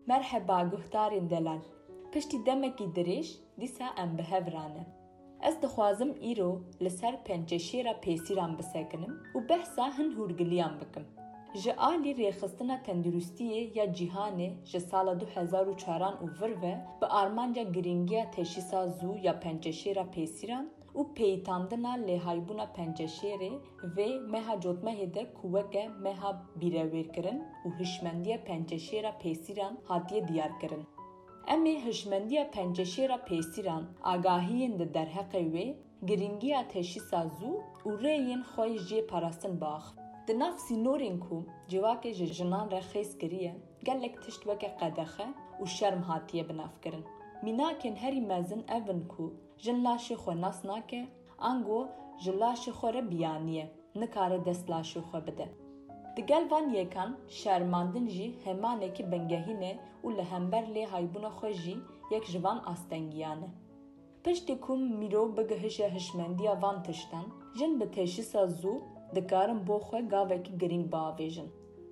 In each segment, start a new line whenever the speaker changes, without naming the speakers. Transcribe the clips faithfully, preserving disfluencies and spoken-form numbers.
Merhaba guhdarên delal. Piştî demekî dirêj, dîsa em bi hev rane. Ez dixwazim îro li ser pençeşêra pêsîran bisekinim û behsa hin hûrgiliyan bikim. Ji alî rêxistina tendurustiyê ya cîhanê ji sala du hezar û çaran û vir ve bi armanca girîngiya teşîsa zû ya pençeşêra pêsîran û peyîtandina lêhaybûna pençeşêrê vê meha cotmehê de ku weke meha bîrewêrkirin û hişmendiya pençeşêra pêsîran hatiye diyarkirin. Em ê hişmendiya pençeşêra pêsîran agahiyên di derheqê wê, girîngiya teşîsa zû û rêyên xwe jê parastin biaxivin. Di nav sînorên ku civakê ji jinan re xêz kiriye, gelek tişt weke qedexe û şerm hatiye binavkirin. Mînakên herî mezin evin ku jin laşê xwe nas nake, ango ji laşê xwe re biyaniye, nikare dest laşê xwe bide. Di gel van yêkan, şermandin jî hemanekî bingehîne û li hember lêhaybûna xwe jî yek ji van astengiyan e. Piştî ku mirov bigihîşe hişmendiya van tiştan, jin bi teşîsa zû dikarin bo xwe gavekî girîng biavêjin.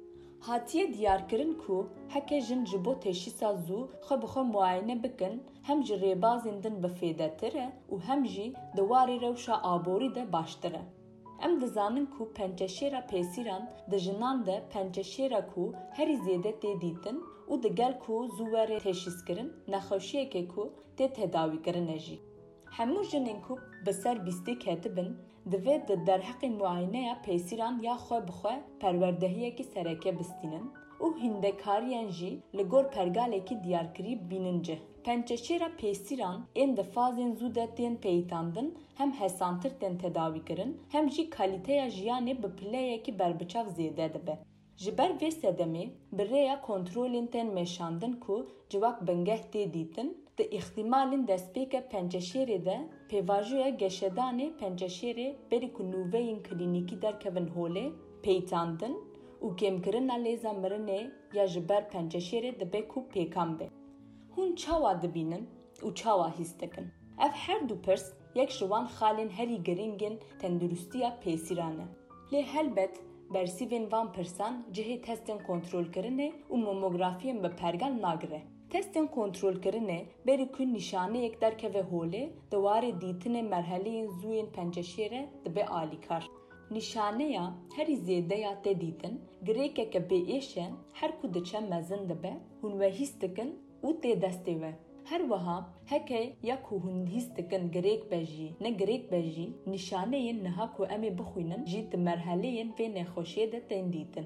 Hatiye diyarkirin ku heke jin ji bo teşîsa zû xwe bi xwe muayene bikin, hem ji rêbazên din bifêdetir e û hem jî di warê rewşa aborî de baştir e. Em dizanin ku pençeşêra pêsîran di jinan de pençeşêra ku herî zêde tê dîtin û di gel ku zû were teşîskirin, nexweşiyekê ku tê tedawîkirin e jî. Hemû jinên ku bi ser bîstê ketibin, divê di derheqên muayeneya pêsîran ya xwe bi xwe perwerdehiyekî sereke bistînin û hîndekariyên jî li gor pergalekî diyarkirî bînin cih. Pençeşêra pêsîran ên di fazên zû de tên peyîtandin, hem hesantir tên tedawîkirin, hem jî kalîteya jiyanê bi pileyekî berbiçav zêde dibe. Ji ber vê sedemê, bi rêya kontrolên tên meşandin ku civak bingeh tê dîtin, di îxtîmalên destpêka pençeşêrê de pêvajoya geşedanê pençeşêrê berî ku nûveyên klînîkî derkevin holê, peyîtandin û kêmkirina lêza mirinê ya ji ber pençeşêrê dibe ku pêkan be. Hûn çawa dibînin û çawa hîs dikin. Ev her du pirs yek ji wan xalên herî girîngên tendurustiya pêsîran e. Lê helbet bersîvên van pirsan cihê testên kontrolkirinê û mamografiyên bi pergal nagire. Testên kontrolkirinê berî ku nîşaneyek derkeve holê, di warê dîtinê merheleyên zûyên pençeşêre dibe alîkar. Nîşaneya herî zêdeya tê dîtin, girêkeke bêêş e, her ku diçe mezin dibe, hûn we hîs dikin û tê destê we. Her wiha heke ya ku hûn hîs dikin girêk be jî, ne girêk be jî, nîşaneyên niha ku em ê bixwînin jî di merheleyên vê nexweşiyê de tên dîtin.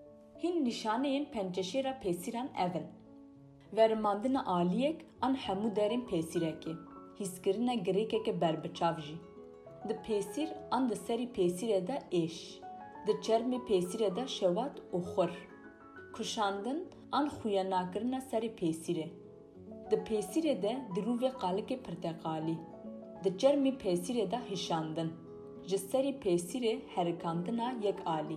Hîn nîşaneyên pençeşêra pêsîran evin. Verimandina aliyek an hemû derên pêsîrekê, hîskirina girêkeke berbiçav jî. Di pêsîr an di serî pêsîrê de êş, di çermê pêsîrê de şewat û xur. Kuşandin an xuyanakirina serî pêsîrê. Di pêsîrê de dirûvê qalikê pirteqalî. Di çermê pêsîrê de hişandin. Ji serî pêsîrê herikandina yek alî.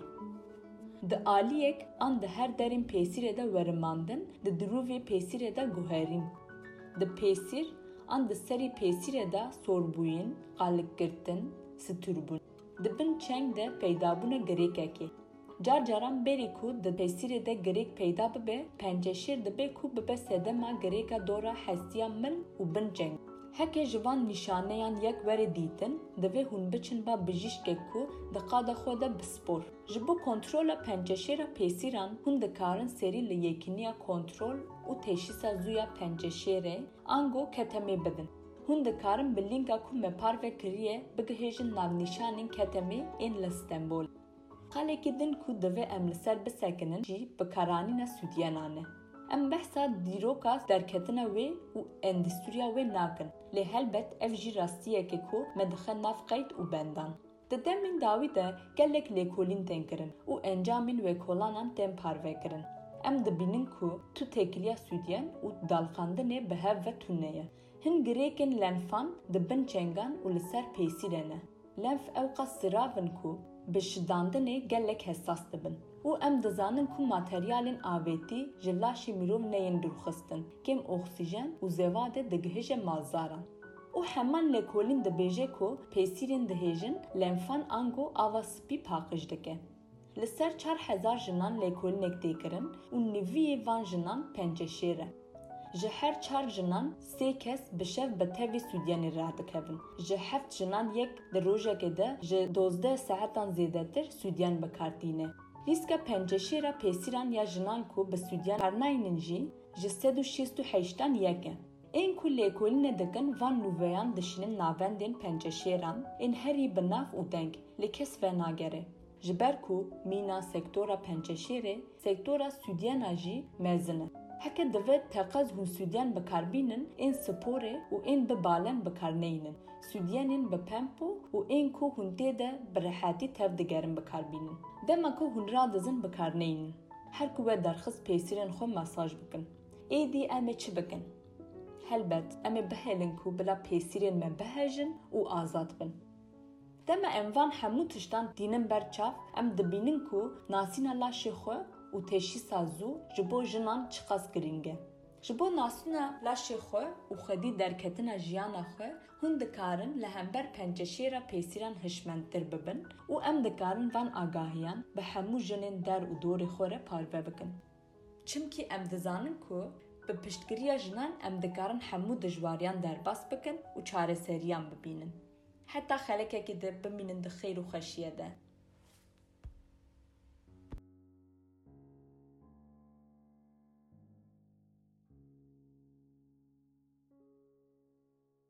Di aliyek an di her derên pêsîrê de werimandin, di dirûvê pêsîrê de guherîn. Di pêsîr an di serî pêsîrê de sorbûyîn, qalikgirtin, stûrbûn. Di bin çeng de peydabûna girêkekê. Car caran berî ku di pêsîrê de girêk peyda bibe, pençeşêr dibe ku bibe sedema girêka dora hestiya min û bin çeng. Heke ji van nîşaneyan yek were dîtin, divê hûn biçin ba bijîşkek ku di qada xwe de bispor. Ji bo kontrola pençeşêra pêsîran hûn dikarin serî li yekîniya kontrol û teşîsa zûya pençeşêrê ango ketemê bidin. Hûn dikarin bi lînka ku me parve kiriye bigihêjin navnîşanên ketemê ên li Stenbolê. Qalekî din ku divê em li ser bisekinin jî bi karanîna sûdiyenan e. Em behsa dîroka derketina wê û endüstriya wê nakin. Lê helbet ev jî rastiyeke ku me dixe nav qeyd û bendan. Di demên dawî de gelek lêkolîn tên kirin û encamên wêkolanan tên parvekirin. Em dibînin ku tu têkiliya sûdiyen û dalxandinê bi hev ve tune ye. Hin girêkên lenfan di bin çengan û li ser pêsîrê ne. Lenf ew qas siravin ku bi şidandinê gelek hessas dibin. û em dizanin ku materyalên avêtî ji laşê mirov neyên dûrxistin, kêm oksîjen û zêvadê digihêje malzaran. û heman lêkolîn dibêje ku pêsîrên dihêjin lenfan ango ava spî paqij dike. لسر چار هزار جنان لیکولنک دیکرن و نوی وان جنان پنج شیره. جه هر چار جنان سه کس بشف به تاوی سودیانی راه دکهون. جه هفت جنان یک در روزه که ده جه دوزده ساعتان زیاده تر سودیان بکارتینه. ریسک پنج شیره پیسیران یا جنان کو به سودیان هرنایننجی جه سد و شیست و هشتان یکه. این کل لیکولین دکن وان نویان دشنن ناوندین پنج شیران این هری بناف و دنگ لکس و ناگره. جبر کو مینا سکتورا پنج شیره سکتورا سودیان آجی مزنه. هکه دوید تقاض هون سودیان بکاربینن این سپوره و این ببالن بکارنینن. سودیانین بپمپو و این کو هون تیده برحاتی تف دگرن بکاربینن. دما کو هون را دزن بکارنینن. هر کوه درخص پیسیرن خو مساج بکن. ایدی امه چی بکن؟ هلبت امه بهلن کو بلا پیسیرن من بهجن و آزاد بن. دما اموان همو تشتان دینن برچاف ام دبینن کو ناسینا لاشی خو و تشی سازو جبو جنان چقاس گرینگه. جبو ناسینا لاشی خو و خدی درکتنا جیانا خو هون دکارن لهمبر پنجشیره پیسیران هشمندتر ببن و ام دکارن وان آگاهیان به همو جنین در و دور خوره پاروه بکن. چمکی ام دزانن کو به پشتگیری جنان ام دکارن همو دجواریان در باس بکن و چاره سریان ببینن. حتی خلکه که ده بمینن ده خیر و خشیه ده.